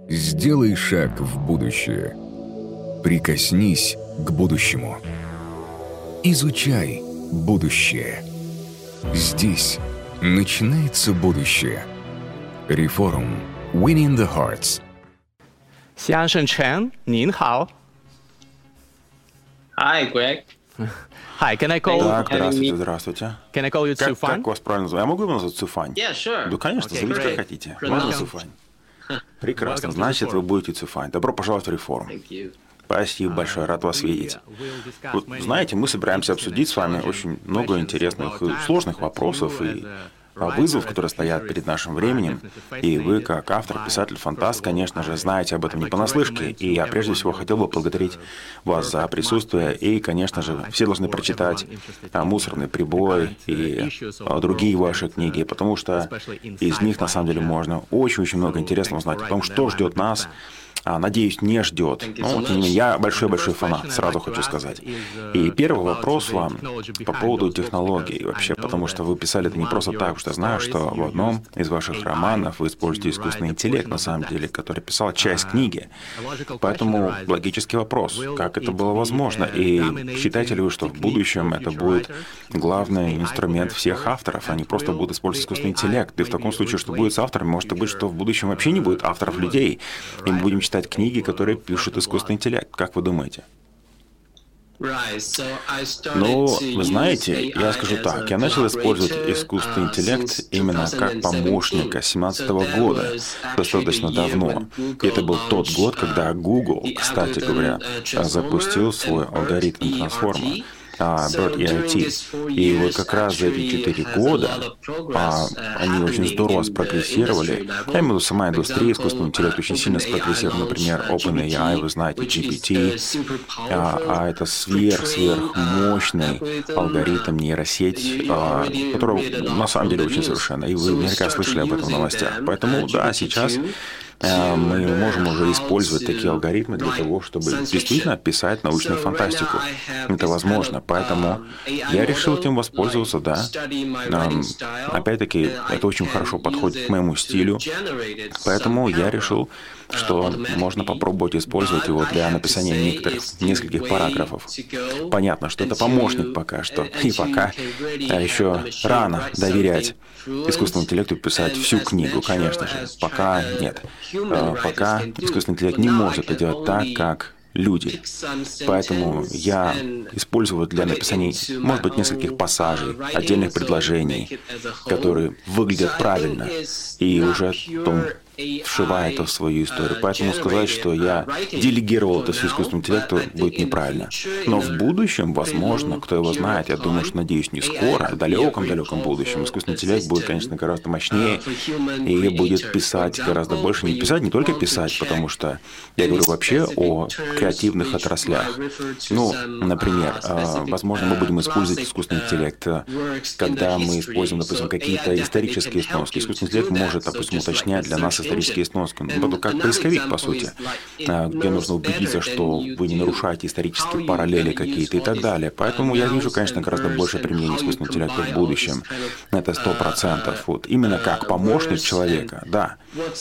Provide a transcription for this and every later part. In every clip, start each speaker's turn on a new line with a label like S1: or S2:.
S1: Сделай шаг в будущее. Прикоснись к будущему. Изучай будущее. Здесь начинается будущее. Reforum. Winning the Hearts.
S2: 先生陈，您好。
S3: Hi, Greg.
S2: Hi, can I call?
S4: Так, здравствуйте.
S2: Can I call you
S4: Как
S2: Цуфань?
S4: вас правильно называть? Я могу его назвать Цуфань?
S3: Yeah, sure.
S4: Да, конечно,
S2: Okay,
S4: зовите
S2: great.
S4: как хотите. Можно Цуфань? Прекрасно,
S2: Welcome to
S4: значит,
S2: Reform.
S4: вы будете Цуфань. Добро пожаловать в Реформ.
S3: Thank you.
S4: Спасибо большое, рад вас видеть. Вот, знаете, мы собираемся обсудить с вами очень много интересных и сложных вопросов и вызовов, которые стоят перед нашим временем. И вы, как автор, писатель, фантаст, конечно же, знаете об этом не понаслышке. И я прежде всего хотел бы поблагодарить вас за присутствие. И, конечно же, все должны прочитать «Мусорный прибой» и другие ваши книги, потому что из них, на самом деле, можно очень-очень много интересного узнать о том, что ждет нас. Надеюсь, не ждет. Но, тем не менее, я большой-большой фанат, сразу хочу сказать. И первый вопрос вам по поводу технологий вообще, потому что вы писали это не просто так, потому что я знаю, что в одном из ваших романов вы используете искусственный интеллект, на самом деле, который писал часть книги. Поэтому логический вопрос, как это было возможно? И считаете ли вы, что в будущем это будет главный инструмент всех авторов, они просто будут использовать искусственный интеллект? И в таком случае, что будет с авторами, может быть, что в будущем вообще не будет авторов людей, и мы будем читать книги, которые пишут искусственный интеллект. Как вы думаете? Ну, вы знаете, я скажу так, я начал использовать искусственный интеллект именно как помощника с 2017 года, достаточно давно. И это был тот год, когда Google, кстати говоря, запустил свой алгоритм трансформа. BERT EIT. И вот как раз за эти 4 года они очень здорово спрогрессировали. Я имею в виду, сама индустрия искусственного интеллекта очень сильно спрогрессировала. Например, OpenAI, вы знаете, GPT. Это сверхмощный алгоритм, нейросеть, которая на самом деле очень совершенна. И вы наверняка слышали об этом в новостях. Поэтому, да, сейчас мы можем уже использовать такие алгоритмы для того, чтобы действительно писать научную фантастику. Это возможно. Поэтому я решил этим воспользоваться, да. Опять-таки, это очень хорошо подходит к моему стилю. Поэтому я решил, что можно попробовать использовать его для написания нескольких параграфов. Понятно, что это помощник пока что. И пока еще рано доверять искусственному интеллекту писать всю книгу, конечно же. Пока нет. Пока искусственный интеллект не может это делать так, как люди. Поэтому я использую для написания, может быть, нескольких пассажей, отдельных предложений, которые выглядят правильно, и уже потом вшивая это в свою историю. Поэтому сказать, что я делегировал это все искусственному интеллекту, будет неправильно. Но в будущем, возможно, кто его знает, я думаю, что, надеюсь, не скоро, в далеком-далеком будущем, искусственный интеллект будет, конечно, гораздо мощнее и будет писать гораздо больше. Не писать, не только писать, потому что я говорю вообще о креативных отраслях. Ну, например, возможно, мы будем использовать искусственный интеллект, когда мы используем, допустим, какие-то исторические сноски. Искусственный интеллект может, допустим, уточнять для нас исторические сноски. Ну, как поисковик, по сути, где нужно убедиться, что вы не нарушаете исторические параллели какие-то и так далее. Поэтому я вижу, конечно, гораздо больше применения искусственного интеллекта в будущем. Это 100%. Вот. Именно как помощник человека, да.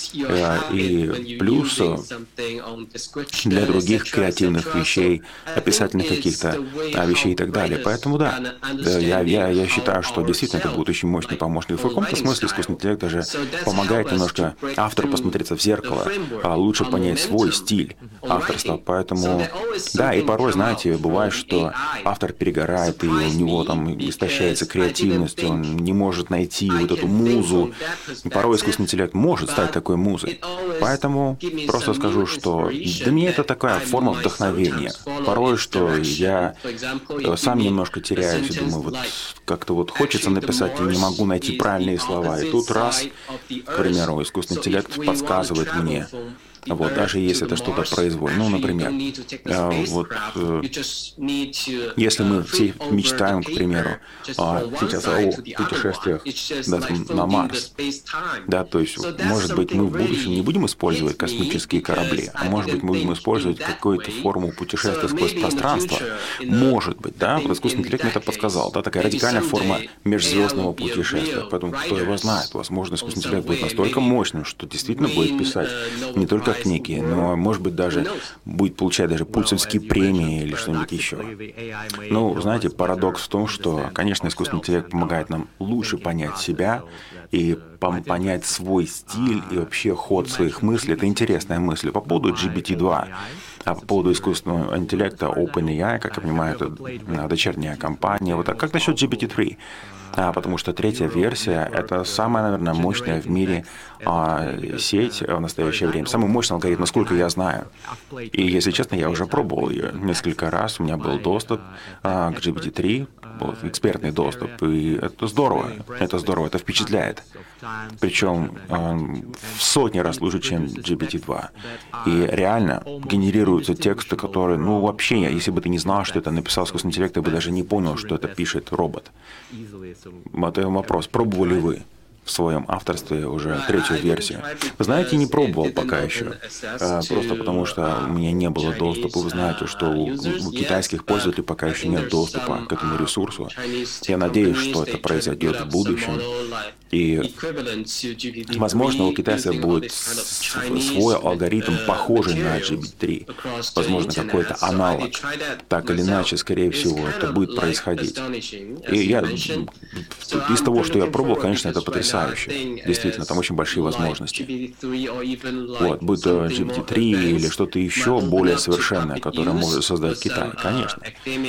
S4: И плюс для других креативных вещей, описательных каких-то вещей и так далее. Поэтому да, я считаю, что действительно это будет очень мощный помощник. В каком-то смысле искусственный интеллект даже помогает немножко автору посмотреться в зеркало, лучше понять свой стиль авторства. Поэтому, да, и порой, знаете, бывает, что автор перегорает, и у него там истощается креативность, он не может найти вот эту музу. И порой искусственный интеллект может стать такой музой. Поэтому просто скажу, что для меня это такая форма вдохновения. Порой, что я сам немножко теряюсь и думаю, вот как-то вот хочется написать, и не могу найти правильные слова. И тут раз, к примеру, искусственный интеллект подсказывает мне, вот, даже если это что-то произвольное. Ну, например, вот, если мы все мечтаем, к примеру, сейчас о путешествиях на Марс, да, то есть, может быть, мы в будущем не будем использовать космические корабли, а может быть, мы будем использовать какую-то форму путешествия сквозь пространство. Может быть, да, вот искусственный интеллект мне это подсказал, да, такая радикальная форма межзвездного путешествия. Поэтому, кто его знает, возможно, искусственный интеллект будет настолько мощным, что действительно будет писать не только книги, но, может быть, даже будет получать даже пульцевские премии или что-нибудь еще. Ну, знаете, парадокс в том, что, конечно, искусственный интеллект помогает нам лучше понять себя и понять свой стиль и вообще ход своих мыслей. Это интересная мысль. По поводу GPT-2, а по поводу искусственного интеллекта OpenAI, как я понимаю, это дочерняя компания. Вот, а как насчет GPT-3? Потому что третья версия — это самая, наверное, мощная в мире сеть в настоящее время. Самый мощный алгоритм, насколько я знаю. И, если честно, я уже пробовал ее несколько раз. У меня был доступ к GPT-3, экспертный доступ. И это здорово. Это здорово, это впечатляет. Причем в сотни раз лучше, чем GPT-2. И реально генерируются тексты, которые, ну, вообще, если бы ты не знал, что это написал искусственный интеллект, ты бы даже не понял, что это пишет робот. Вот вопрос, пробовали вы в своем авторстве уже третью версию? Вы знаете, не пробовал пока еще, просто потому что у меня не было доступа. Вы знаете, что у китайских пользователей пока еще нет доступа к этому ресурсу. Я надеюсь, что это произойдет в будущем. И, возможно, у китайцев будет свой алгоритм, похожий на GPT-3. Возможно, какой-то аналог. Так или иначе, скорее всего, это будет происходить. И я, из того, что я пробовал, конечно, это потрясающе. Действительно, там очень большие возможности. Вот, будь то GPT-3 или что-то еще более совершенное, которое может создать Китай, конечно.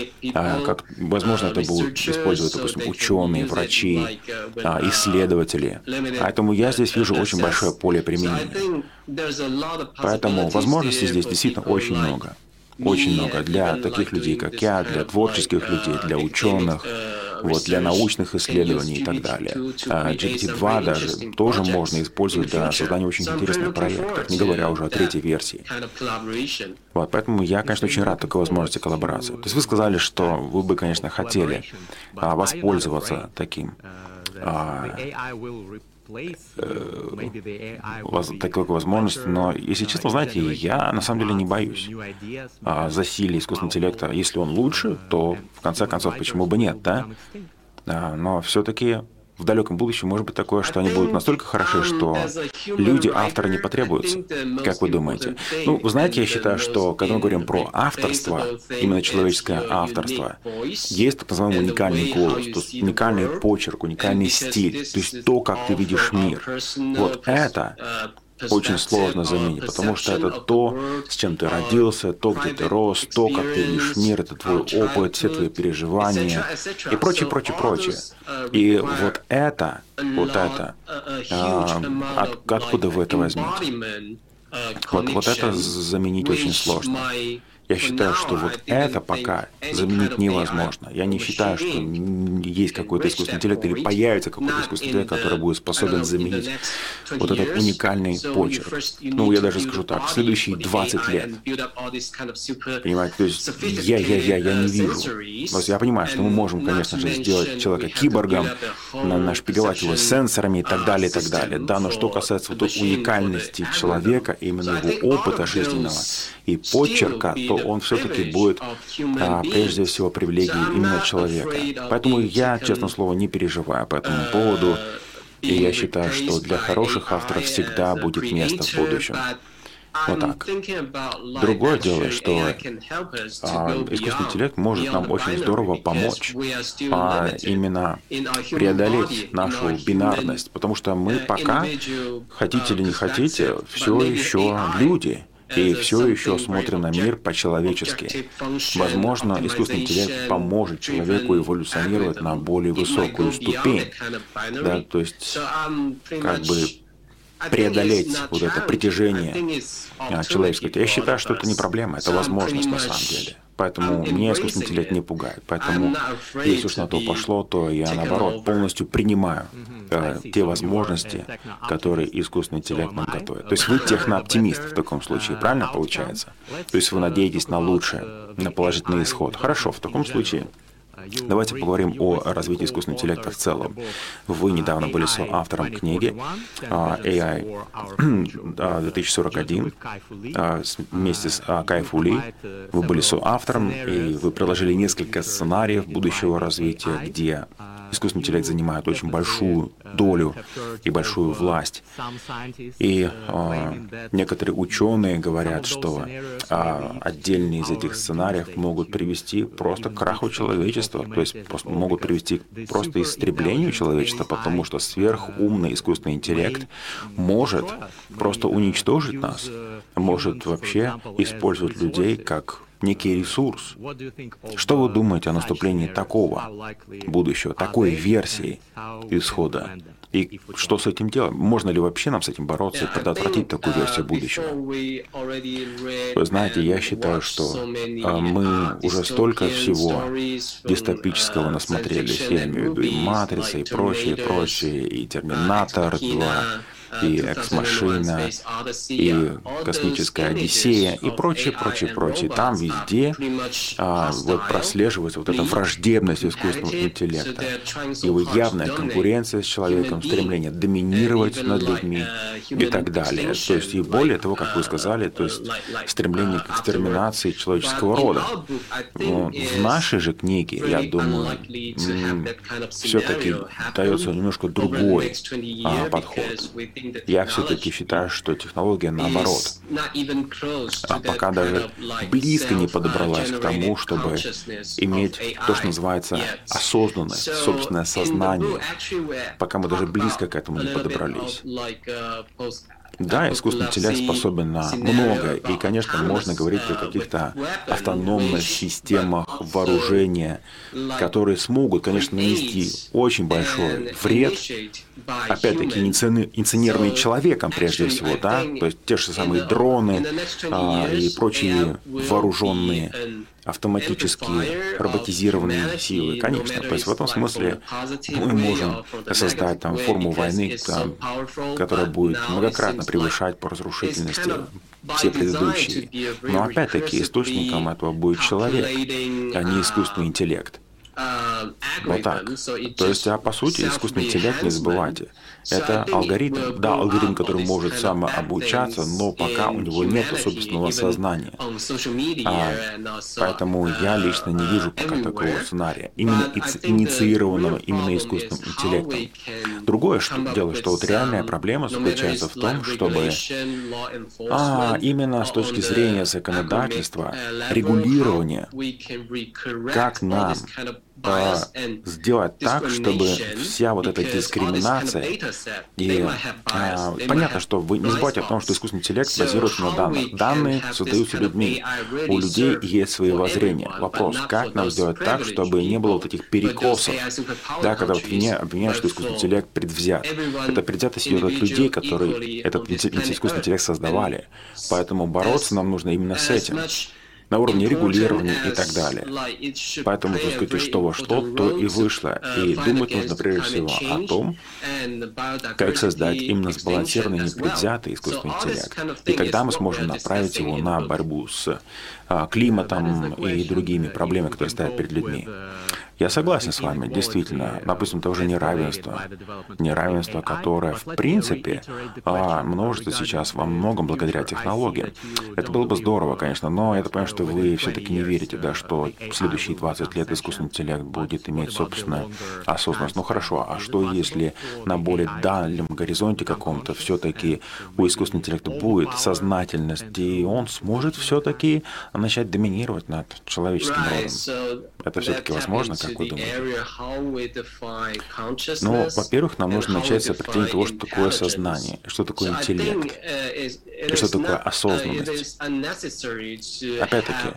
S4: Возможно, это будут использовать, допустим, ученые, врачи, исследователи. Поэтому я здесь вижу очень большое поле применения. Поэтому возможностей здесь действительно очень много. Очень много для таких людей, как я, для творческих людей, для ученых, вот, для научных исследований и так далее. GPT-2 даже тоже можно использовать для создания очень интересных проектов, не говоря уже о третьей версии. Вот, поэтому я, конечно, очень рад такой возможности коллаборации. То есть вы сказали, что вы бы, конечно, хотели воспользоваться таким такой возможности, но, если честно, знаете, я на самом деле не боюсь засилия искусственного интеллекта. Если он лучше, то, в конце концов, почему бы нет, да? Но все-таки в далеком будущем может быть такое, что они будут настолько хороши, что люди, авторы, не потребуются. Как вы думаете? Ну, вы знаете, я считаю, что когда мы говорим про авторство, именно человеческое авторство, есть так называемый уникальный голос, то есть уникальный почерк, уникальный стиль, то есть то, как ты видишь мир. Вот это очень сложно заменить, потому что это то, с чем ты родился, то, где ты рос, то, как ты видишь мир, это твой опыт, все твои переживания и прочее, прочее, прочее. И вот это, откуда вы это возьмете? Вот это заменить очень сложно. Я считаю, что вот это пока заменить невозможно. Я не считаю, что есть какой-то искусственный интеллект или появится какой-то искусственный интеллект, который будет способен заменить вот этот уникальный почерк. Ну, я даже скажу так, в следующие 20 лет. Понимаете, то есть я не вижу. То есть я понимаю, что мы можем, конечно же, сделать человека киборгом, нашпиговать его сенсорами и так далее, и так далее. Да, но что касается вот уникальности человека, именно его опыта жизненного и почерка, то он все-таки будет прежде всего привилегией именно человека. Поэтому я, честное слово, не переживаю по этому поводу. И я считаю, что для хороших авторов всегда будет место в будущем. Вот так. Другое дело, что искусственный интеллект может нам очень здорово помочь именно преодолеть нашу бинарность, потому что мы пока, хотите или не хотите, все еще люди. И все еще смотрим на мир по-человечески. Возможно, искусственный интеллект поможет человеку эволюционировать на более высокую ступень. Да, то есть, как бы преодолеть вот это притяжение человеческого. Я считаю, что это не проблема, это возможность на самом деле. Поэтому меня искусственный интеллект не пугает. Поэтому, если уж на то пошло, то я, наоборот, полностью принимаю те возможности, которые искусственный интеллект нам готовит. То есть вы технооптимист в таком случае, правильно получается? То есть вы надеетесь на лучшее, на положительный исход. Хорошо, в таком случае давайте поговорим о развитии искусственного интеллекта в целом. Вы недавно были соавтором книги AI 2041 вместе с Кай-Фу Ли. Вы были соавтором, и вы предложили несколько сценариев будущего развития, где искусственный интеллект занимает очень большую долю и большую власть. И некоторые ученые говорят, что отдельные из этих сценариев могут привести просто к краху человечества, то есть просто могут привести к просто истреблению человечества, потому что сверхумный искусственный интеллект может просто уничтожить нас, может вообще использовать людей как некий ресурс. Что вы думаете о наступлении такого будущего, такой версии исхода? И что с этим делать? Можно ли вообще нам с этим бороться и предотвратить такую версию будущего? Вы знаете, я считаю, что мы уже столько всего дистопического насмотрелись. Я имею в виду и «Матрица», и прочее, и «Терминатор 2», и «Экс-машина», и «Космическая Одиссея», и прочее. Там везде вот прослеживается вот эта враждебность искусственного интеллекта, его явная конкуренция с человеком, стремление доминировать над людьми и так далее. То есть и более того, как вы сказали, то есть стремление к экстерминации человеческого рода. Но в нашей же книге, я думаю, все-таки дается немножко другой подход. Я все-таки считаю, что технология наоборот, пока даже близко не подобралась к тому, чтобы иметь то, что называется осознанность, собственное сознание, пока мы даже близко к этому не подобрались. Да, искусственный интеллект способен на многое, и, конечно, можно говорить о каких-то автономных системах вооружения, которые смогут, конечно, нанести очень большой вред, опять-таки, инициированные человеком прежде всего, да, то есть те же самые дроны и прочие вооруженные автоматические роботизированные силы, конечно. То есть в этом смысле мы можем создать там форму войны, которая будет многократно превышать по разрушительности все предыдущие. Но опять-таки источником этого будет человек, а не искусственный интеллект. Вот так. То есть, по сути, искусственный интеллект, не забывайте, это алгоритм. Да, алгоритм, который может самообучаться, но пока у него нет собственного сознания. Поэтому я лично не вижу пока такого сценария, именно инициированного именно искусственным интеллектом. Другое дело, что вот реальная проблема заключается в том, чтобы именно с точки зрения законодательства, регулирования, как нам сделать так, чтобы вся вот эта дискриминация, и понятно, что вы не забывайте о том, что искусственный интеллект базируется на данных. Данные создаются людьми. У людей есть свои воззрения. Вопрос, как нам сделать так, чтобы не было вот этих перекосов, да, когда вот обвиняют, что искусственный интеллект предвзят. Это предвзятость идет от людей, которые этот искусственный интеллект создавали. Поэтому бороться нам нужно именно с этим, на уровне регулирования и так далее. Поэтому, так сказать, что во что, то и вышло. И думать нужно прежде всего о том, как создать именно сбалансированный, непредвзятый искусственный интеллект. И тогда мы сможем направить его на борьбу с климатом и другими проблемами, которые стоят перед людьми. Я согласен с вами, действительно, допустим, тоже неравенство, которое, в принципе, множится сейчас во многом благодаря технологиям. Это было бы здорово, конечно, но я понимаю, что вы все-таки не верите, да, что в следующие 20 лет искусственный интеллект будет иметь собственную осознанность. Ну хорошо, а что если на более дальнем горизонте каком-то все-таки у искусственного интеллекта будет сознательность, и он сможет все-таки начать доминировать над человеческим родом? Это все-таки возможно, как вы думаете? Ну, во-первых, нам нужно начать с определения того, что такое сознание, что такое интеллект, и что такое осознанность. Опять-таки,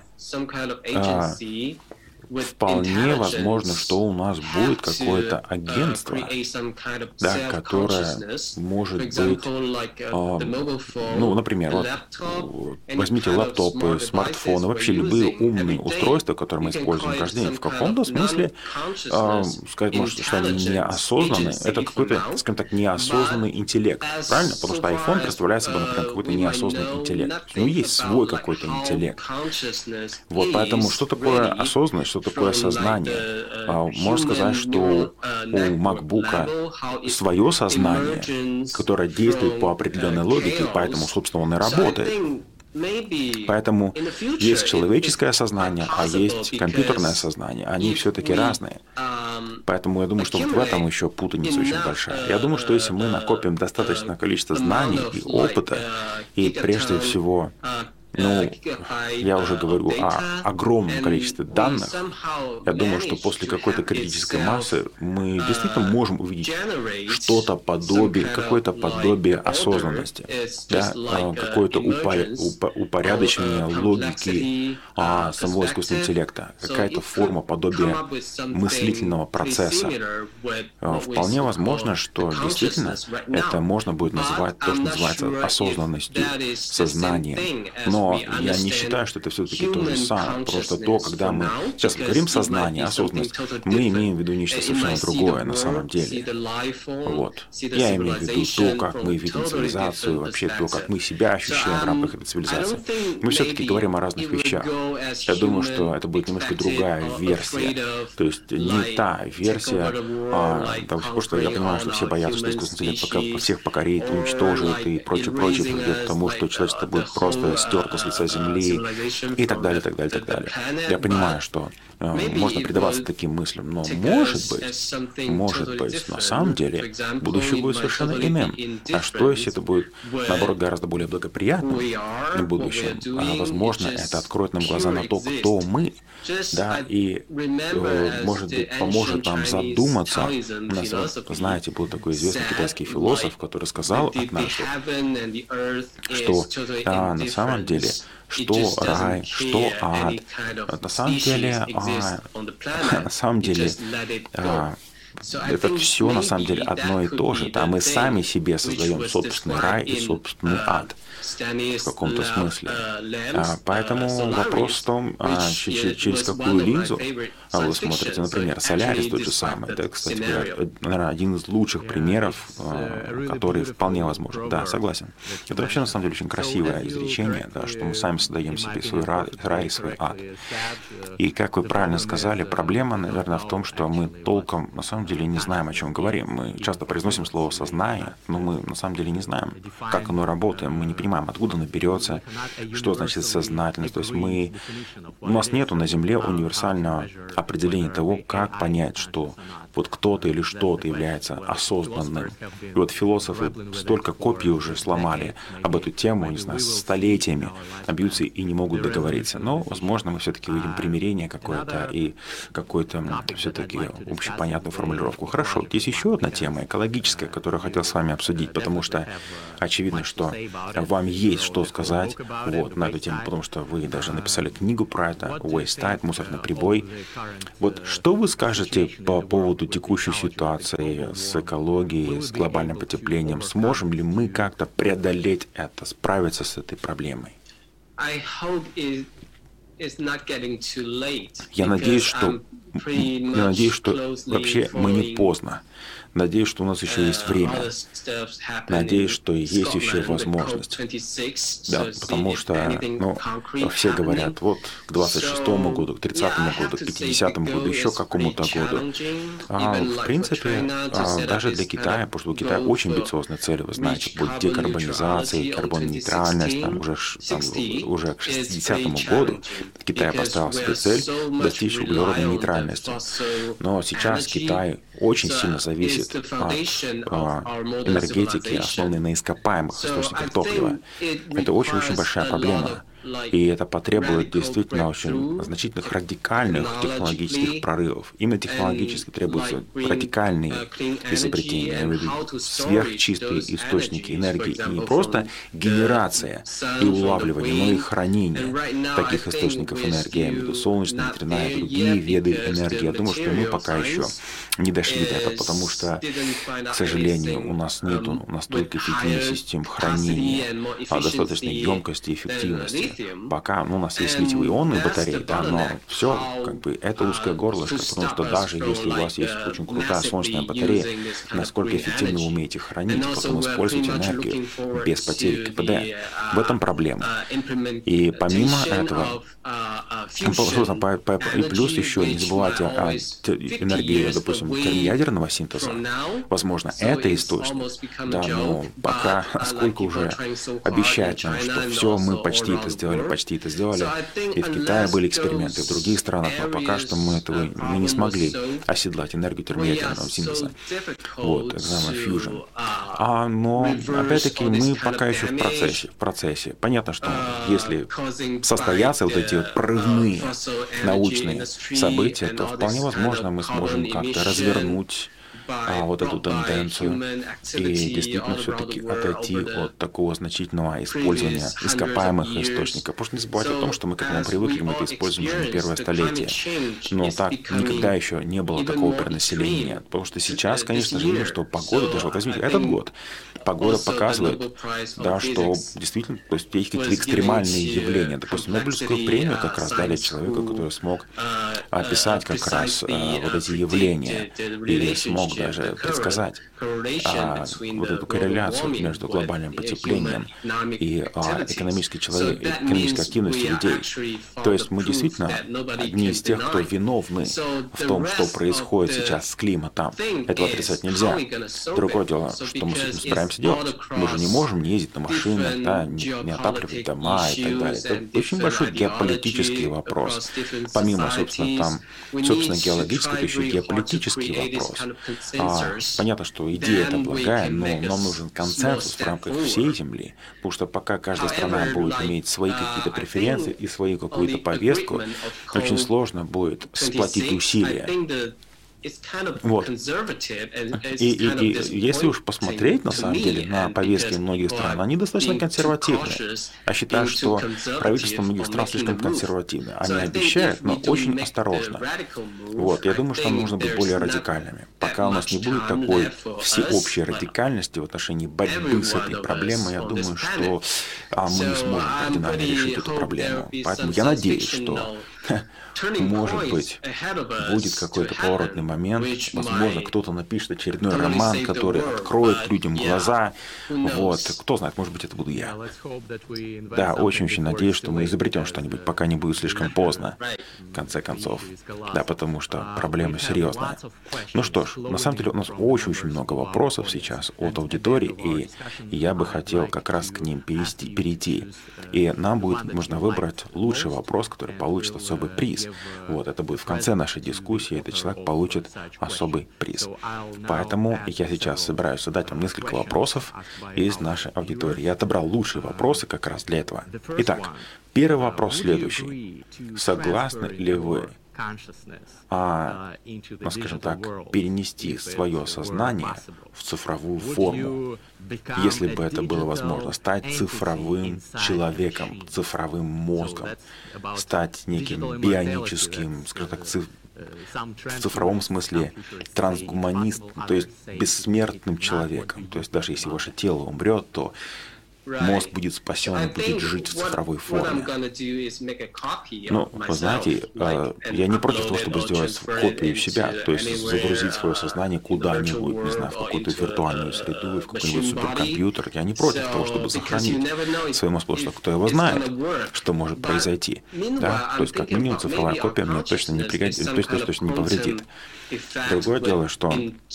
S4: вполне возможно, что у нас будет какое-то агентство, да, которое может быть, ну, например, вот, возьмите лэптопы, смартфоны, вообще любые умные устройства, которые мы используем каждый день. В каком-то смысле, сказать можно, что они неосознанные, это какой-то, скажем так, неосознанный интеллект, правильно? Потому что iPhone представляет собой, например, какой-то неосознанный интеллект. У него есть свой какой-то интеллект. Вот, поэтому что такое осознанность, что такое сознание? Можно сказать, что у MacBook свое сознание, которое действует по определенной логике, поэтому, собственно, он и работает. Поэтому есть человеческое сознание, а есть компьютерное сознание. Они все-таки разные. Поэтому я думаю, что вот в этом еще путаница очень большая. Я думаю, что если мы накопим достаточное количество знаний и опыта, и прежде всего, я уже говорю о огромном количестве данных. Я думаю, что после какой-то критической массы мы действительно можем увидеть что-то подобие, какое-то подобие осознанности, да? Какое-то упорядочение логики самого искусственного интеллекта, какая-то форма подобия мыслительного процесса. Вполне возможно, что действительно это можно будет называть то, что называется осознанностью, сознанием. Но я не считаю, что это все-таки то же самое. Просто то, когда мы сейчас говорим сознание, осознанность, мы имеем в виду нечто совершенно другое на самом деле. Вот. Я имею в виду то, как мы видим цивилизацию, вообще то, как мы себя ощущаем в рамках этой цивилизации. Мы все-таки говорим о разных вещах. Я думаю, что это будет немножко другая версия. То есть не та версия, потому что я понимаю, что все боятся, что искусственный интеллект всех покорит, уничтожит и прочее, придет к тому, что человечество будет просто стерто с лица Земли и так далее, так далее, так далее. Я понимаю, что можно предаваться таким мыслям, но может быть, на самом деле будущее будет совершенно иным. А что, если это будет, наоборот, гораздо более благоприятным в будущем? Возможно, это откроет нам глаза на то, кто мы, да, и, может быть, поможет нам задуматься. У нас, знаете, был такой известный китайский философ, который сказал однажды, что на самом деле, что рай, что ад, на самом деле, это все на самом деле одно и то же. Да? Мы сами себе создаем собственный рай и собственный ад в каком-то смысле. Поэтому вопрос в том, через какую линзу вы смотрите. Например, Солярис тот же самый. Это, кстати говоря, наверное, один из лучших примеров, который вполне возможен. Да, согласен. Это вообще на самом деле очень красивое изречение, да, что мы сами создаем себе свой рай и свой ад. И как вы правильно сказали, проблема, наверное, в том, что мы толком на самом деле не знаем, о чем говорим. Мы часто произносим слово «сознание», но мы на самом деле не знаем, как оно работает. Мы не понимаем, откуда оно берется, что значит сознательность. То есть у нас нету на Земле универсального определения того, как понять, что вот кто-то или что-то является осознанным. И вот философы столько копий уже сломали об эту тему, не знаю, столетиями, бьются и не могут договориться. Но, возможно, мы все-таки увидим примирение какое-то и какую-то все-таки общепонятную формулировку. Хорошо, есть еще одна тема, экологическая, которую я хотел с вами обсудить, потому что очевидно, что вам есть что сказать на эту тему, потому что вы даже написали книгу про это, Waste Tide, мусорный прибой. Вот что вы скажете по поводу текущей ситуации с экологией, с глобальным потеплением? Сможем ли мы как-то преодолеть это, справиться с этой проблемой? Я надеюсь, что вообще мы не поздно. Надеюсь, что у нас еще есть время. Надеюсь, что есть еще возможность. Да, потому что, все говорят, вот к 26-му году, к 30-му году, к 50-му году, еще к какому-то году. В принципе, даже для Китая, потому что у Китая очень амбициозные цели, вы знаете, будет декарбонизация, карбоннейтральность, уже к 60-му году Китай поставил себе цель достичь углеродной нейтральности. Но сейчас Китай очень сильно зависит от энергетики, основанной на ископаемых источниках топлива. Это очень-очень большая проблема. И это потребует действительно очень значительных радикальных технологических прорывов. Именно технологически требуются радикальные изобретения, сверхчистые источники энергии. И не просто генерация и улавливание, но и хранение таких источников энергии. Я имею в виду солнечная, ветряная и другие виды энергии. Я думаю, что мы пока еще не дошли до этого, потому что, к сожалению, у нас нет настолько эффективных систем хранения, достаточной емкости и эффективности. Пока у нас есть литиево-ионные батареи, да, но все, это узкое горлышко, потому что даже если у вас есть очень крутая солнечная батарея, насколько эффективно вы умеете хранить, потом использовать энергию без потери КПД. В этом проблема. И помимо этого, И плюс еще не забывайте о энергии, допустим, термоядерного синтеза. Возможно, это источник. Да, но пока, сколько уже обещают нам, что все, мы почти это сделали. И в Китае были эксперименты, в других странах, но пока что мы не смогли оседлать энергию термоядерного синтеза. Вот, экзамен Fusion. Но, опять-таки, мы пока еще в процессе. Понятно, что если состоятся вот эти вот прорывные научные события, то вполне возможно мы сможем как-то развернуть вот эту тенденцию и действительно все-таки отойти от такого значительного использования ископаемых источников. Потому что не забывайте о том, что мы к этому привыкли, мы это используем уже не первое столетие. Но так никогда еще не было такого перенаселения. Потому что сейчас, конечно же, видно, что погода, даже вот возьмите этот год, погода показывает, да, что действительно, то есть есть какие-то экстремальные явления. Допустим, Нобелевскую премию как раз дали человеку, который смог описать как раз вот эти явления и смог даже предсказать вот эту корреляцию между глобальным потеплением и экономической активностью людей. То есть мы действительно одни из тех, кто виновны в том, что происходит сейчас с климатом. Этого отрицать нельзя. Другое дело, что мы с этим собираемся делать. Мы же не можем не ездить на машинах, да, не отапливать дома и так далее. Это очень большой геополитический вопрос. Помимо, собственно, геологического, это еще геополитический вопрос. Понятно, что идея это благая, но нам нужен консенсус в рамках всей Земли, потому что пока каждая страна будет иметь свои какие-то преференции и свою какую-то повестку, очень сложно будет сплотить усилия. Вот. И если уж посмотреть, на самом деле, на повестки многих стран, они достаточно консервативны. Я считаю, что правительство многих стран слишком консервативно. Они обещают, но очень осторожно. Вот. Я думаю, что нам нужно быть более радикальными. Пока у нас не будет такой всеобщей радикальности в отношении борьбы с этой проблемой, я думаю, что мы не сможем кардинально решить эту проблему. Поэтому я надеюсь, что может быть, будет какой-то поворотный момент, возможно, кто-то напишет очередной роман, который откроет людям глаза, вот, кто знает, может быть, это буду я. Да, очень-очень надеюсь, что мы изобретем что-нибудь, пока не будет слишком поздно, в конце концов, да, потому что проблема серьезная. Ну что ж, на самом деле у нас очень-очень много вопросов сейчас от аудитории, и я бы хотел как раз к ним перейти, и нам будет нужно выбрать лучший вопрос, который получит особый приз. Вот, это будет в конце нашей дискуссии, этот человек получит особый приз. Поэтому я сейчас собираюсь задать вам несколько вопросов из нашей аудитории. Я отобрал лучшие вопросы как раз для этого. Итак, первый вопрос следующий. Согласны ли вы, скажем так, перенести свое сознание в цифровую форму, если бы это было возможно, стать цифровым человеком, цифровым мозгом, стать неким бионическим, скажем так, в цифровом смысле трансгуманистом, то есть бессмертным человеком. То есть даже если ваше тело умрет, то мозг будет спасен и будет жить в цифровой форме. Но, вы знаете, я не против того, чтобы сделать копию себя, то есть загрузить свое сознание куда-нибудь, не знаю, в какую-то виртуальную среду, в какой-нибудь суперкомпьютер. Я не против того, чтобы сохранить свой мозг, потому что кто его знает, что может произойти. Да? То есть, как минимум, цифровая копия мне точно не пригодится, точно не повредит. Другое дело, что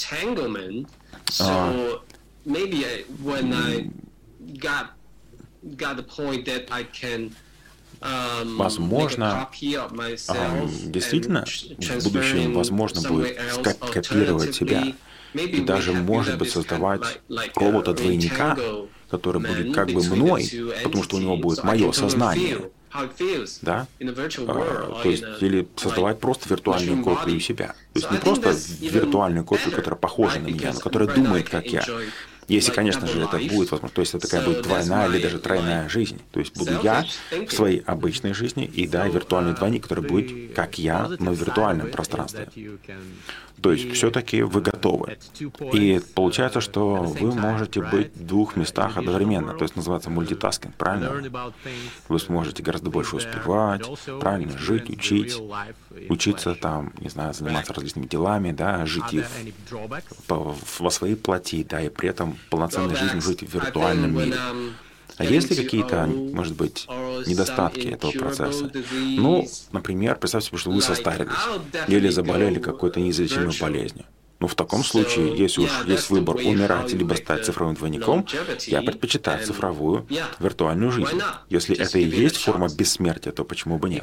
S4: возможно, действительно, в будущем возможно будет копировать себя и даже, может быть, создавать робота-двойника, который будет как бы мной, потому что у него будет мое сознание. Да? То есть, или создавать просто виртуальную копию себя. То есть не просто виртуальную копию, которая похожа на меня, но которая думает, как я. Если, конечно же, это будет возможно, то есть это такая будет двойная или даже тройная жизнь. То есть буду я в своей обычной жизни и, да, виртуальный двойник, который будет как я, но в виртуальном пространстве. То есть все-таки вы готовы. И получается, что вы можете быть в двух местах одновременно. То есть называется мультитаскинг, правильно? Вы сможете гораздо больше успевать, правильно, жить, учиться там, не знаю, заниматься различными делами, да, жить и во своей плоти, да, и при этом полноценной жизнью жить в виртуальном мире. А есть ли какие-то, может быть, недостатки этого процесса. Ну, например, представьте себе, что вы состарились или заболели какой-то неизлечимой болезнью. Ну, в таком случае, если уж есть выбор умирать либо стать цифровым двойником, я предпочитаю цифровую виртуальную жизнь. Если это и есть форма бессмертия, то почему бы нет?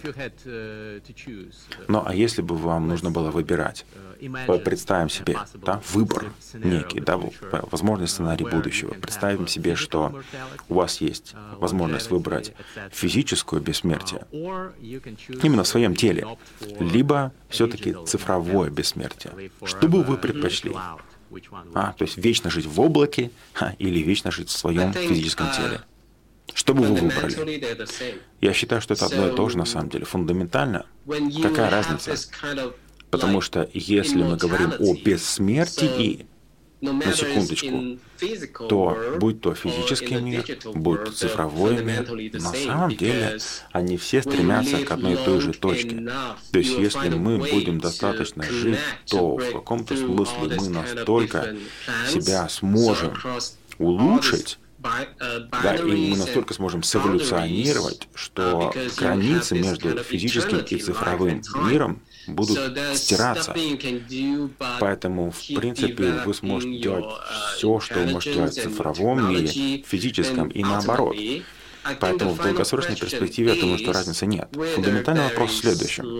S4: Ну, а если бы вам нужно было выбирать, представим себе, да, выбор некий, да, возможный сценарий будущего. Представим себе, что у вас есть возможность выбрать физическое бессмертие именно в своем теле, либо все-таки цифровое бессмертие. Что бы вы предпочли? То есть вечно жить в облаке или вечно жить в своем физическом теле? Что бы вы выбрали? Я считаю, что это одно и то же на самом деле. Фундаментально, какая разница? Потому что если мы говорим о бессмертии, на секундочку, то будь то физический мир, будь то цифровой мир, на самом деле они все стремятся к одной и той же точке. То есть если мы будем достаточно жить, то в каком-то смысле мы настолько себя сможем улучшить, да, и мы настолько сможем сэволюционировать, что границы между физическим и цифровым миром будут стираться. Поэтому, в принципе, вы сможете делать все, что вы можете делать в цифровом мире, в физическом и наоборот. Поэтому в долгосрочной перспективе я думаю, что разницы нет. Фундаментальный вопрос в следующем.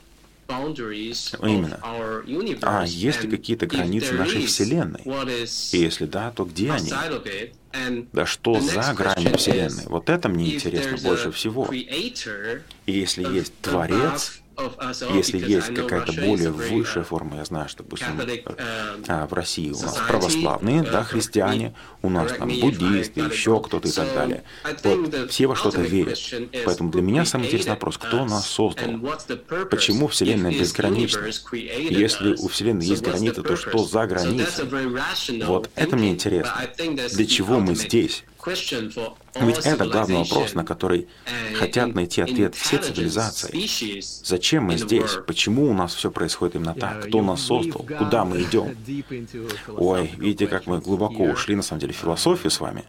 S4: Именно. Есть ли какие-то границы нашей Вселенной? И если да, то где они? Да что за грани Вселенной? Вот это мне интересно больше всего. И если есть Творец, если есть какая-то более высшая форма, я знаю, что, допустим, в России у нас православные, да, христиане, у нас там буддисты, еще кто-то и так далее. Вот, все во что-то верят. Поэтому для меня самый интересный вопрос, кто нас создал? Почему Вселенная безгранична? Если у Вселенной есть границы, то что за границы? Вот это мне интересно. Для чего мы здесь? Ведь это главный вопрос, на который хотят найти ответ все цивилизации. Зачем мы здесь? Почему у нас все происходит именно так? Кто нас создал? Куда мы идем? Ой, видите, как мы глубоко ушли, на самом деле, в философию с вами.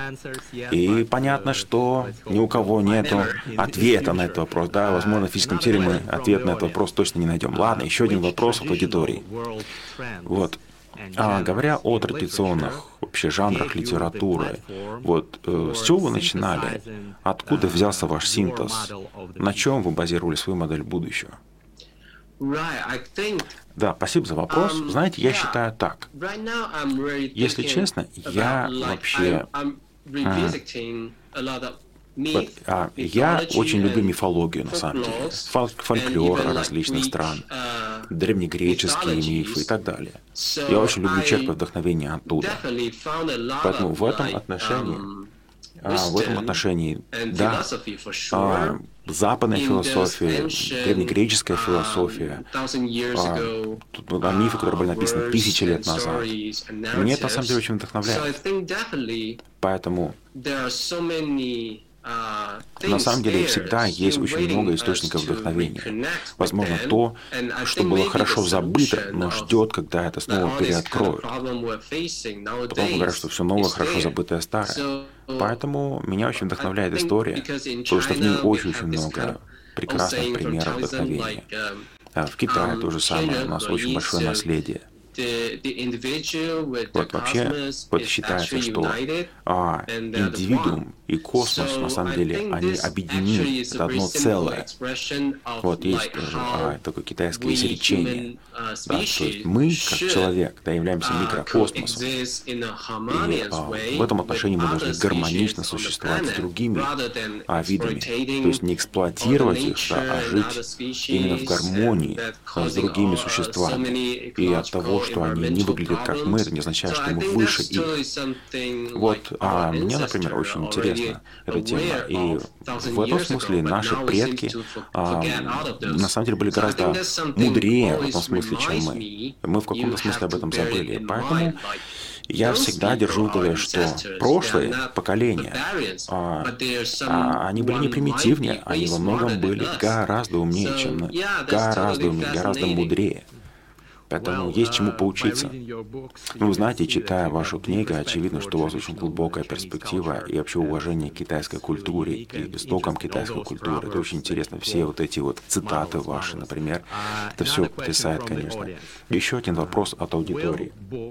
S4: И понятно, что ни у кого нет ответа на этот вопрос. Да, возможно, в физическом теле мы ответ на этот вопрос точно не найдем. Ладно, еще один вопрос от аудитории. Вот. Говоря о традиционных вообще жанрах литературы, вот с чего вы начинали? Откуда взялся ваш синтез? На чем вы базировали свою модель будущего? Да, спасибо за вопрос. Знаете, я считаю так. Если честно, я вообще... Я очень люблю мифологию, на самом деле. Фольклор различных стран, древнегреческие мифы и так далее. Я очень люблю черпать вдохновение оттуда. Поэтому в этом отношении, да, западная философия, древнегреческая философия, мифы, которые были написаны 1000 лет назад, мне это на самом деле очень вдохновляет. Поэтому на самом деле всегда есть очень много источников вдохновения. Возможно, то, что было хорошо забыто, но ждет, когда это снова переоткроют. Потом говорят, что все новое, хорошо забытое старое. Поэтому меня очень вдохновляет история, потому что в ней очень много прекрасных примеров вдохновения. В Китае то же самое, у нас очень большое наследие. Вот вообще считается, что индивидуум и космос, на самом деле, они объединены, это одно целое. Вот есть тоже такое китайское изречение, да, то есть мы, как человек, да, являемся микрокосмосом, и в этом отношении мы должны гармонично существовать с другими видами, то есть не эксплуатировать их, да, а жить именно в гармонии с другими существами. И от того, что они не выглядят как мы, это не означает, что мы выше их. Вот, мне, например, очень интересна эта тема. И в этом смысле наши предки, на самом деле, были гораздо мудрее в этом смысле, чем мы. Мы в каком-то смысле об этом забыли. Поэтому я всегда держу в голове, что прошлые поколения, они были не примитивнее, они во многом были гораздо умнее, чем мы, гораздо умнее, гораздо мудрее. Поэтому есть чему поучиться. Вы знаете, читая вашу книгу, очевидно, что у вас очень глубокая перспектива и вообще уважение к китайской культуре, к истокам китайской культуры. Это очень интересно. Все вот эти вот цитаты ваши, например, это все потрясает, конечно. Еще один вопрос от аудитории.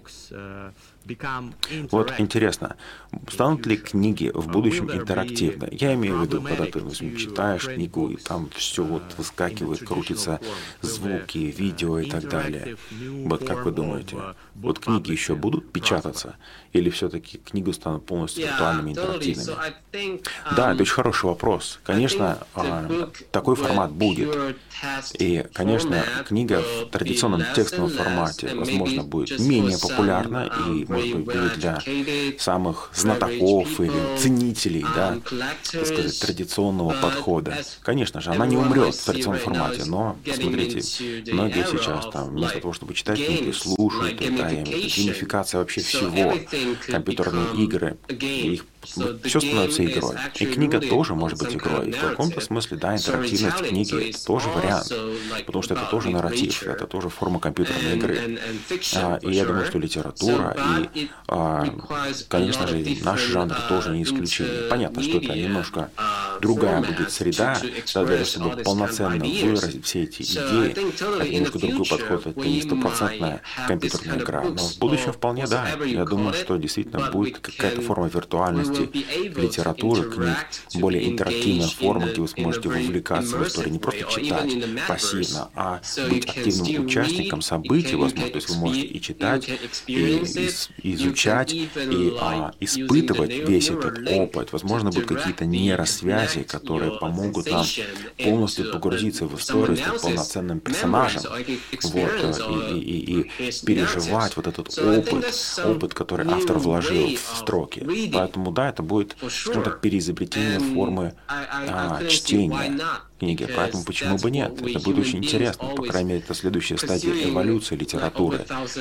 S4: Вот интересно, станут ли книги в будущем интерактивны? Я имею в виду, когда ты читаешь книгу, и там все вот выскакивает, крутится звуки, видео и так далее. Вот как вы думаете, вот книги еще будут печататься? Или все-таки книги станут полностью виртуальными, интерактивными? Да, это очень хороший вопрос. Конечно, такой формат будет. И, конечно, книга в традиционном текстовом формате, возможно, будет менее популярна и, может быть, будет для самых знатоков или ценителей, да, так сказать, традиционного подхода. Конечно же, она не умрет в традиционном формате, но, посмотрите, многие сейчас там вместо того, чтобы читать книги, слушают, да, и геймификация вообще всего, компьютерные игры, их все становится игрой. И книга тоже может быть игрой. И в каком-то смысле, да, интерактивность книги – тоже вариант. Потому что это тоже нарратив, это тоже форма компьютерной игры. И я думаю, что литература и, конечно же, наш жанр тоже не исключение. Понятно, что это немножко другая будет среда, для того, чтобы полноценно выразить все эти идеи. Это немножко другой подход, это не стопроцентная компьютерная игра. Но в будущем вполне, да. Я думаю, что действительно будет какая-то форма виртуальности, литературы, книг, более интерактивная форма, где вы сможете вовлекаться в историю, не просто читать пассивно, а быть активным участником событий, возможно, то есть вы можете и читать, и изучать, и испытывать весь этот опыт. Возможно, будут какие-то нейросвязи, которые помогут нам полностью погрузиться в историю, стать полноценным персонажем, вот, и переживать вот этот опыт, который автор вложил в строки. Поэтому, да, это будет, скажем так, переизобретение формы чтения книги. Поэтому почему бы нет? Это будет очень интересно. По крайней мере, это следующая стадия эволюции литературы.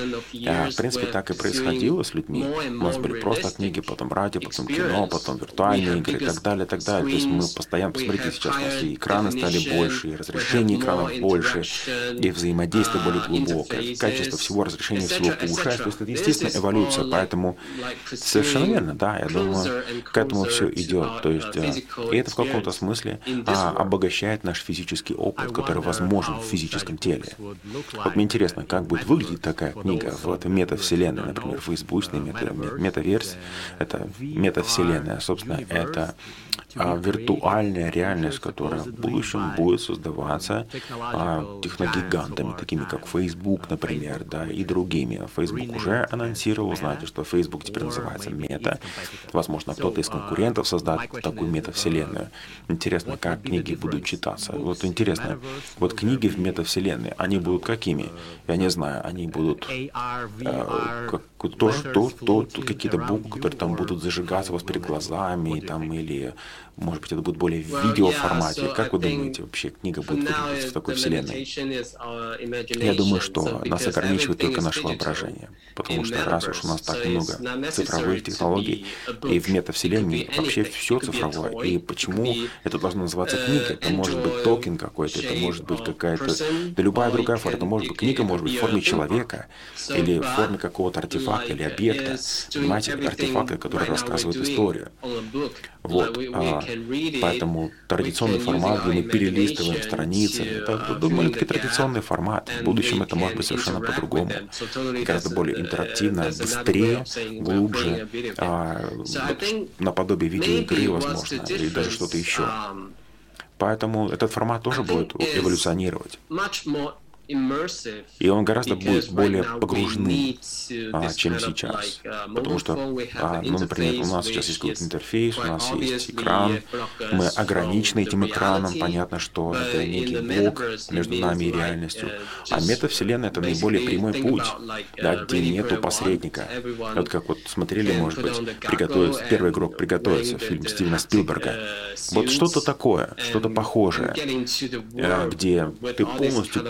S4: В принципе, так и происходило с людьми. У нас были просто книги, потом радио, потом кино, потом виртуальные игры и так далее, и так далее. То есть мы постоянно, посмотрите, сейчас у нас и экраны стали больше, и разрешение экранов больше, и взаимодействие более глубокое, качество всего, разрешение всего повышается. То есть это естественная эволюция. Поэтому совершенно верно, да, я думаю, к этому все идет. То есть, и это в каком-то смысле обогащает наш физический опыт, который возможен в физическом теле. Вот мне интересно, как будет выглядеть такая книга в этой метавселенной, например, фейсбучной метаверсии. Это метавселенная, собственно, это виртуальная реальность, которая в будущем будет создаваться техногигантами, такими как Facebook, например, да, и другими. Facebook уже анонсировал, знаете, что Facebook теперь называется Мета. Возможно, кто-то из конкурентов создаст такую метавселенную. Интересно, как книги будут читаться. Вот интересно, вот книги в метавселенной, они будут какими? Я не знаю, они будут какие-то буквы, которые там будут зажигаться у вас перед глазами, там, или, может быть, это будет более в видеоформате. Как вы думаете, вообще книга будет выглядеть в такой вселенной? Я думаю, что нас ограничивает только наше воображение. Потому что раз уж у нас так много цифровых технологий, и в метавселенной вообще все цифровое. И почему это должно называться книга? Это может быть токен какой-то, это может быть какая-то, да любая другая форма. Это может быть книга, может быть в форме человека, или в форме какого-то артефакта или объекта. Понимаете, артефакты, которые рассказывают историю. Вот. Поэтому традиционный формат, где мы перелистываем страницы, это довольно-таки традиционный формат. В будущем это может быть совершенно по-другому. Гораздо более интерактивно, быстрее, глубже, наподобие видеоигры, возможно, или даже что-то еще. Поэтому этот формат тоже будет эволюционировать. И он гораздо будет более погруженным, чем сейчас. Потому что, ну, например, у нас сейчас есть какой-то интерфейс, у нас есть экран, мы ограничены этим экраном, понятно, что это некий блок между нами и реальностью. А метавселенная — это наиболее прямой путь, да, где нету посредника. Вот как вот смотрели, может быть, «Первый игрок приготовится», фильм Стивена Спилберга. Вот что-то такое, что-то похожее, где ты полностью погружаешься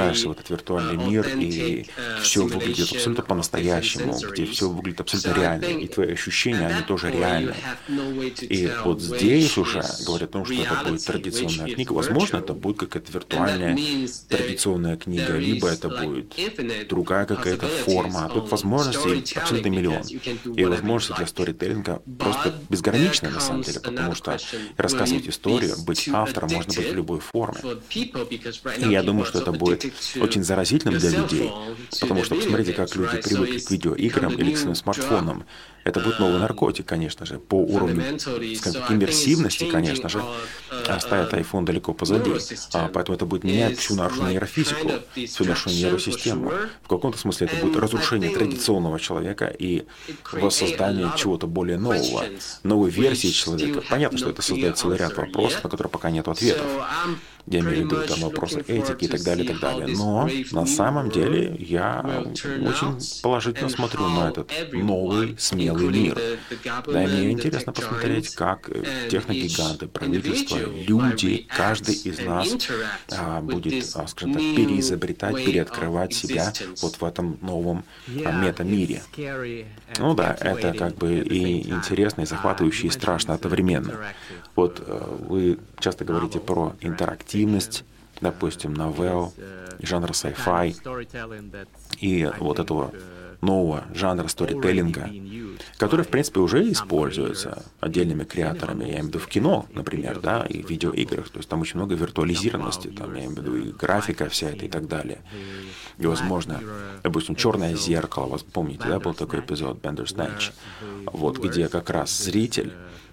S4: погружаешься в этот виртуальный мир, и все выглядит абсолютно по-настоящему, где все выглядит абсолютно реально, и твои ощущения, они тоже реальны. И вот здесь уже говорят о том, что это будет традиционная книга. Возможно, это будет какая-то виртуальная традиционная книга, либо это будет другая какая-то форма. А тут возможностей абсолютно миллион. И возможности для сторителлинга просто безграничны на самом деле, потому что рассказывать историю, быть автором можно быть в любой форме. И я думаю, что это будет очень заразительным для людей, потому что посмотрите, как люди привыкли к видеоиграм или к своим смартфонам. Это будет новый наркотик, конечно же, по уровню, скажем так, иммерсивности, конечно же, оставят iPhone далеко позади. Поэтому это будет менять всю нашу нейрофизику, всю нашу нейросистему. В каком-то смысле это будет разрушение традиционного человека и воссоздание чего-то более нового, новой версии человека. Понятно, что это создает целый ряд вопросов, на которые пока нет ответов. Я имею в виду там вопросы этики и так далее, и так далее. Но на самом деле я очень положительно смотрю на этот новый, смелый мир. Да, и мне интересно посмотреть, как техногиганты, правительства, люди, каждый из нас будет, скажем так, переизобретать, переоткрывать себя вот в этом новом мета-мире. Ну да, это как бы и интересно, и захватывающе, и страшно одновременно. Вот вы часто говорите про интерактивность, допустим, новелл, жанра sci-fi, и вот этого нового жанра сторителлинга, который, в принципе, уже используется отдельными креаторами, я имею в виду в кино, например, да, и в видеоиграх, то есть там очень много виртуализированности, там, я имею в виду и графика вся эта и так далее. И, возможно, допустим, «Черное зеркало», вы помните, да, был такой эпизод Bandersnatch, вот, где как раз зритель,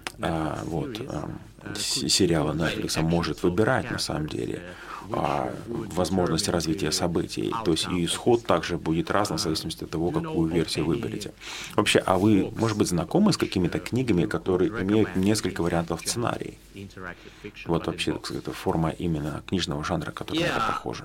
S4: сериала Netflix может выбирать, на самом деле, возможности развития событий. То есть и исход также будет разным в зависимости от того, какую версию выберете. Вообще, а вы, может быть, знакомы с какими-то книгами, которые имеют несколько вариантов сценарий? Вот вообще, так сказать, форма именно книжного жанра, который на это похожа.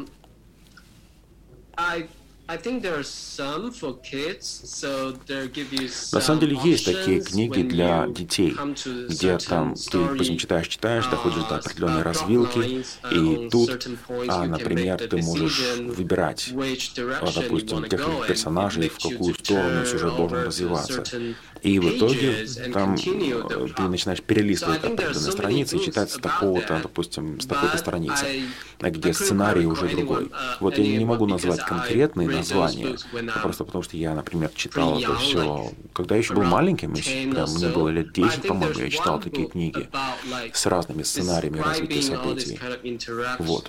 S4: На самом деле есть такие книги для детей, где там ты, допустим, читаешь, доходишь до определенной развилки, и тут, например, ты можешь выбирать, допустим, тех персонажей, в какую сторону сюжет должен развиваться. И в итоге там ты начинаешь перелистывать определенные страницы и читать с такого-то, допустим, с такой-то страницы, где сценарий уже другой. Вот я не могу назвать конкретные названия, просто потому что я, например, читал это все, когда я еще был маленьким, мне было лет 10, по-моему, я читал такие книги с разными сценариями развития событий. Вот.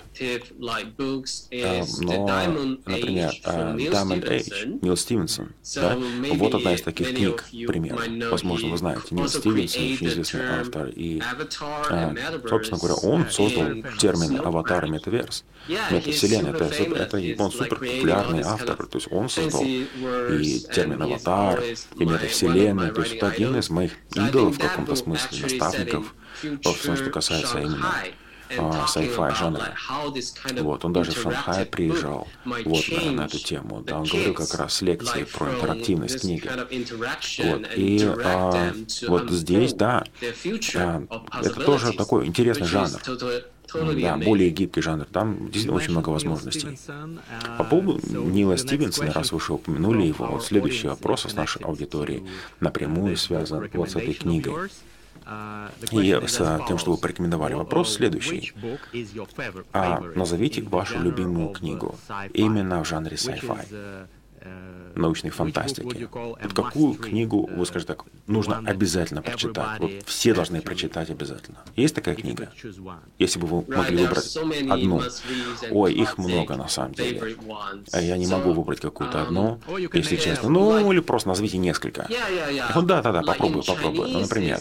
S4: Но, например, Diamond Age, Нил Стивенсон, да, вот одна из таких книг, пример. Возможно, вы знаете, Нил Стивенсон, очень известный автор, и, собственно говоря, он создал термин «аватар» и «метаверс». Метавселенная, это он супер популярный автор, то есть он создал и термин «аватар», и метавселенная, то есть это один из моих идолов в каком-то смысле, наставников, во всем, что касается именно sci-fi жанра. Вот, он даже в Шанхай приезжал вот, на эту тему. Да, он говорил как раз лекции про интерактивность книги. Вот, и вот здесь, да, это тоже такой интересный жанр. Да, более гибкий жанр. Там действительно очень много возможностей. По поводу Нила Стивенсона, раз вы уже упомянули его, вот следующий вопрос с нашей аудиторией напрямую связан вот с этой книгой. И с тем, что вы порекомендовали. Вопрос следующий. Назовите вашу любимую книгу именно в жанре sci-fi, научной фантастики. Вот какую книгу, вы скажете так, нужно обязательно прочитать? Вот все должны прочитать обязательно. Есть такая книга? Если бы вы могли выбрать одну. Ой, их много на самом деле. Я не могу выбрать какую-то одну, если честно. Ну, или просто назовите несколько. Да, попробую. Ну, например,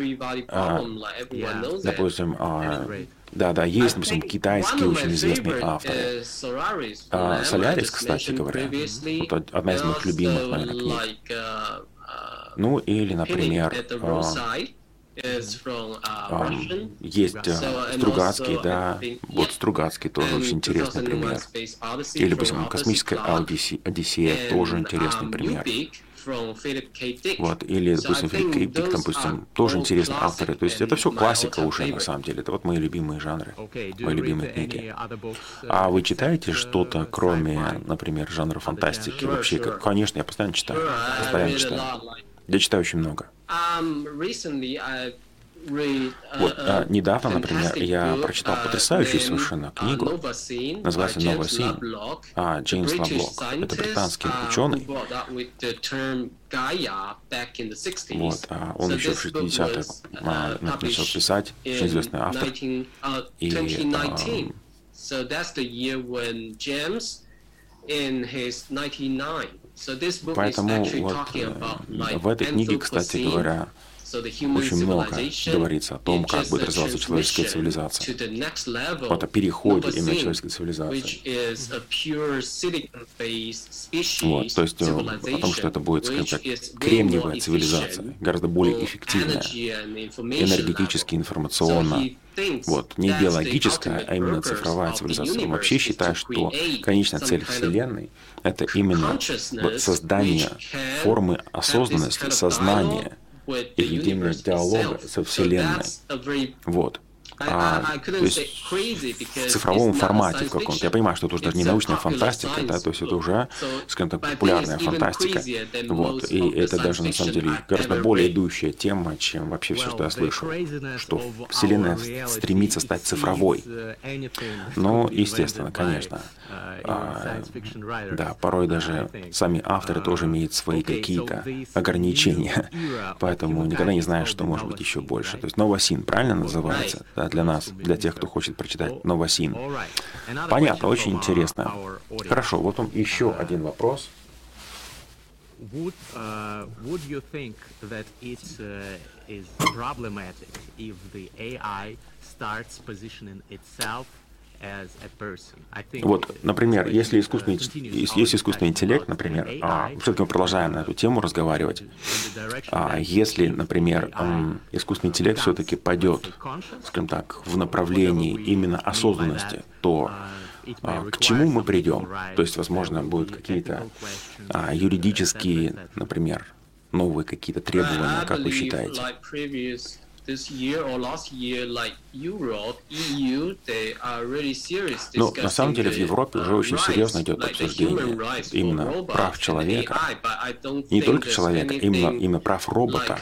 S4: допустим, да, есть, допустим, китайские очень известные авторы. Солярис, кстати говоря, вот одна из моих любимых, наверное, книг. Ну, или, например, есть Стругацкий, да, вот Стругацкий тоже очень интересный пример. Или, допустим, «Космическая Одиссея» тоже интересный пример. Вот, или, допустим, Филипп К. Дик, допустим, тоже интересные авторы. То есть это все классика уже, на самом деле. Это вот мои любимые жанры, мои любимые книги. А вы читаете что-то, кроме, например, жанра фантастики? Вообще, конечно, я постоянно читаю. Я читаю очень много. Вот, недавно, например, я прочитал потрясающую совершенно книгу, называется «Новая Син», Джеймс Лавлок. Это британский ученый. Вот, он еще в 60-х начал писать, очень известный автор. Поэтому вот в этой книге, кстати говоря, очень много говорится о том, как будет развиваться человеческая цивилизация. Вот о переходе именно человеческой цивилизации. Вот, то есть о том, что это будет, скажем так, кремниевая цивилизация, гораздо более эффективная, энергетически, информационно. Вот, не биологическая, а именно цифровая цивилизация. Он вообще считает, что конечная цель Вселенной — это именно создание формы осознанности, сознания, и ведение диалога со Вселенной. Вот. То есть в цифровом формате в каком-то. Я понимаю, что это уже даже не научная фантастика, да, то есть это уже, скажем так, популярная фантастика. Вот. И это даже на самом деле гораздо более идущая тема, чем вообще все, что я слышал. Что Вселенная стремится стать цифровой. Но, естественно, конечно. Да, порой даже сами авторы тоже имеют свои какие-то ограничения. Поэтому никогда не знаешь, что может быть еще больше. То есть «Новая Син» правильно называется? Да, для нас, для тех, кто хочет прочитать «Новая Син». Понятно, очень интересно. Хорошо, вот вам еще один вопрос.
S2: Would you think that it is problematic if the AI starts positioning itself as a person?
S4: Вот, например, если искусственный интеллект, например, все-таки мы продолжаем на эту тему разговаривать, если, например, искусственный интеллект все-таки пойдет, скажем так, в направлении именно осознанности, то к чему мы придем? То есть, возможно, будут какие-то юридические, например, новые какие-то требования, как вы считаете? Но на самом деле в Европе уже очень серьезно идет обсуждение именно прав человека, не только человека, именно прав робота.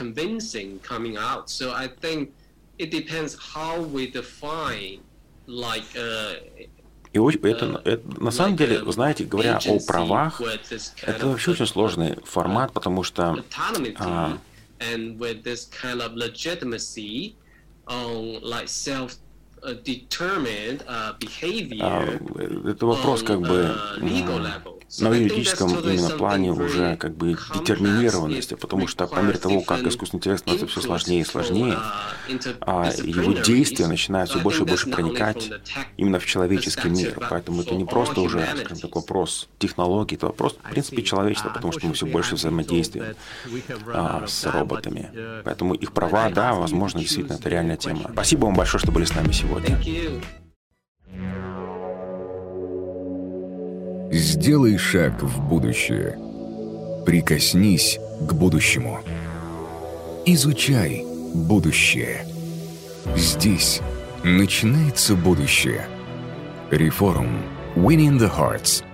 S4: И это, на самом деле, вы знаете, говоря о правах, это вообще очень сложный формат, потому что
S3: and with this kind of legitimacy on like self-determined behavior.
S4: Это вопрос как бы на юридическом именно плане уже как бы детерминированности, потому что по мере того, как искусственный интеллект становится все сложнее и сложнее, его действия начинают все больше и больше проникать именно в человеческий мир. Поэтому это не просто уже, скажем так, вопрос технологий, это вопрос, в принципе, человечества, потому что мы все больше взаимодействуем с роботами. Поэтому их права, да, возможно, действительно, это реальная тема. Спасибо вам большое, что были с нами сегодня.
S1: Сделай шаг в будущее. Прикоснись к будущему. Изучай будущее. Здесь начинается будущее. Reforum. Winning the Hearts.